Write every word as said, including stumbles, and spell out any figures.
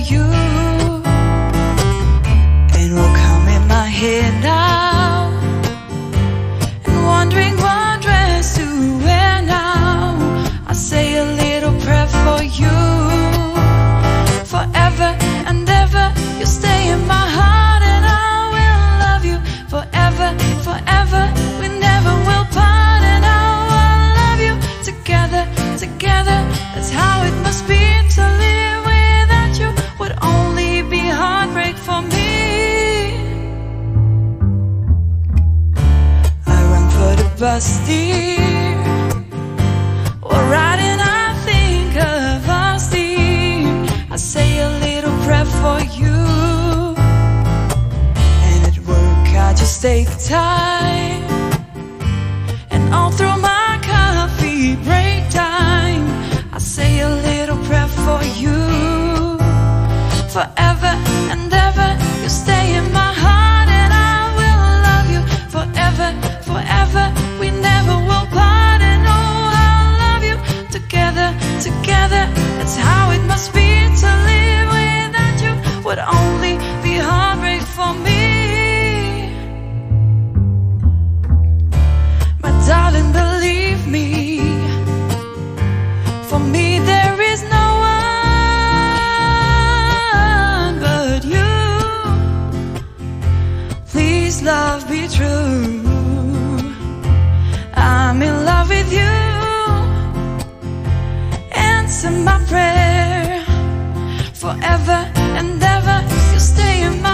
you. And will come in my head now, and wondering what dress to wear now. I say a little prayer for you. Forever and ever, you stay in my heart, and I will love you forever, forever. We never will part, and I will love you together, together. That's how it must be. To live without you would only be heartbreak for me. I run for the bus, dear. While riding, I think of us, dear. I say a little prayer for you. And at work, I just take time, and all through my coffee break time, I say a little prayer for you. Forever and ever, you stay in my heart, and I will love you forever, forever. We never will part, and oh, I'll love you together, together. That's how it must be. To live without you would only be heartbreak for me. My darling, believe me, for me there is no one but you. Please, love, be true. I'm in love with you. Answer my prayer. Forever and ever, you stay in my